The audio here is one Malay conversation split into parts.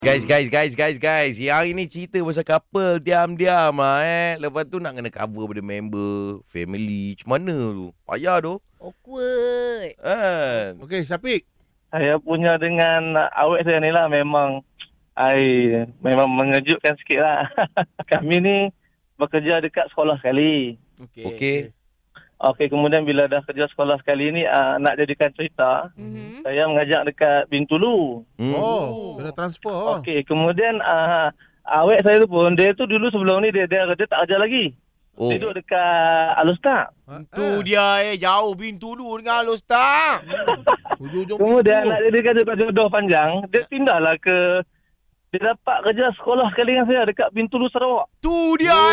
Guys. Yang ini cerita pasal couple diam-diam Lepas tu nak kena cover pada member, family. Macam mana tu? Payah tu. Awkward. Okey, Syafiq. Saya punya dengan awet saya ni lah memang mengejutkan sikit lah. Kami ni bekerja dekat sekolah sekali. Okey. Okey, kemudian bila dah kerja sekolah sekali ni nak jadikan cerita, saya mengajak dekat Bintulu. Kena transfer. Okey, kemudian awet saya tu pun, dia tu dulu sebelum ni dia tak kerja lagi. Dia duduk dekat Alustar. Tu dia jauh Bintulu dengan Alustar. Hujung-hujung Kemudian pintu. nak jadikan cerita jodoh panjang, dia pindahlah ke, dia dapat kerja sekolah sekali dengan saya dekat Bintulu Sarawak. Tu dia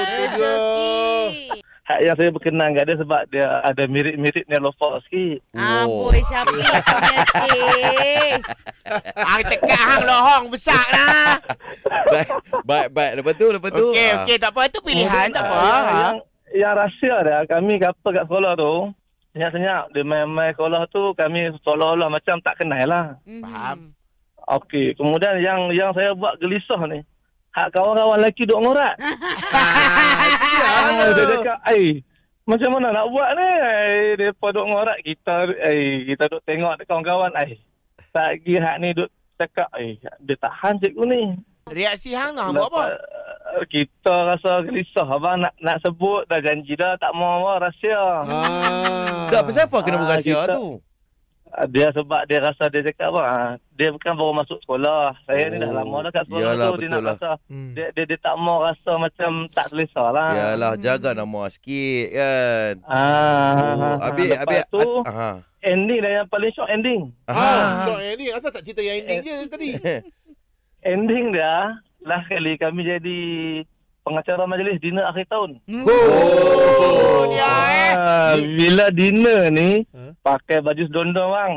Hak yang saya berkenan kat dia sebab dia ada mirip-mirip Nelofa sikit. Amboi Syafiq penyakit. Hang tekat hang lohong besar lah. Baik. Lepas tu. Okey, tak apa. Itu pilihan, tak apa. Yang rahsia dia, kami couple kat sekolah tu, senyap-senyap. Dia main-main sekolah tu, kami seolah-olah macam tak kenal lah. Faham. Okey, kemudian yang saya buat gelisah ni, hak kawan-kawan lelaki duk ngorat. Dia cakap, macam mana nak buat ni? Mereka duk ngorat, kita duk tengok kawan-kawan. Tak lagi hak ni duk cakap, dia tahan cikgu ni. Reaksi hang nak buat apa? Kita rasa gelisah abang nak sebut dah janji dah tak mau rahsia. Tak, pasal apa kena berahsia kita- tu? Dia sebab dia rasa dia cakap apa? Dia bukan baru masuk sekolah. Saya ni dah lama dah kat sekolah Yalah, tu. Dia betul nak lah. rasa dia tak mau rasa macam tak selesa lah. Yalah, jaga nama sikit kan. Lepas tu ending dah yang paling shock ending. So ini asal tak cerita yang ending je tadi. Ending dia last kali kami jadi pengacara majlis dinner akhir tahun. Bila dinner ni pakai baju sedondong bang.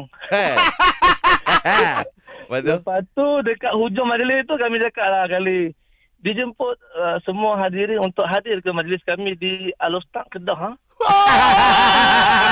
Lepas tu dekat hujung majlis tu kami cakap lah kali dijemput semua hadirin untuk hadir ke majlis kami di Alustar Kedah.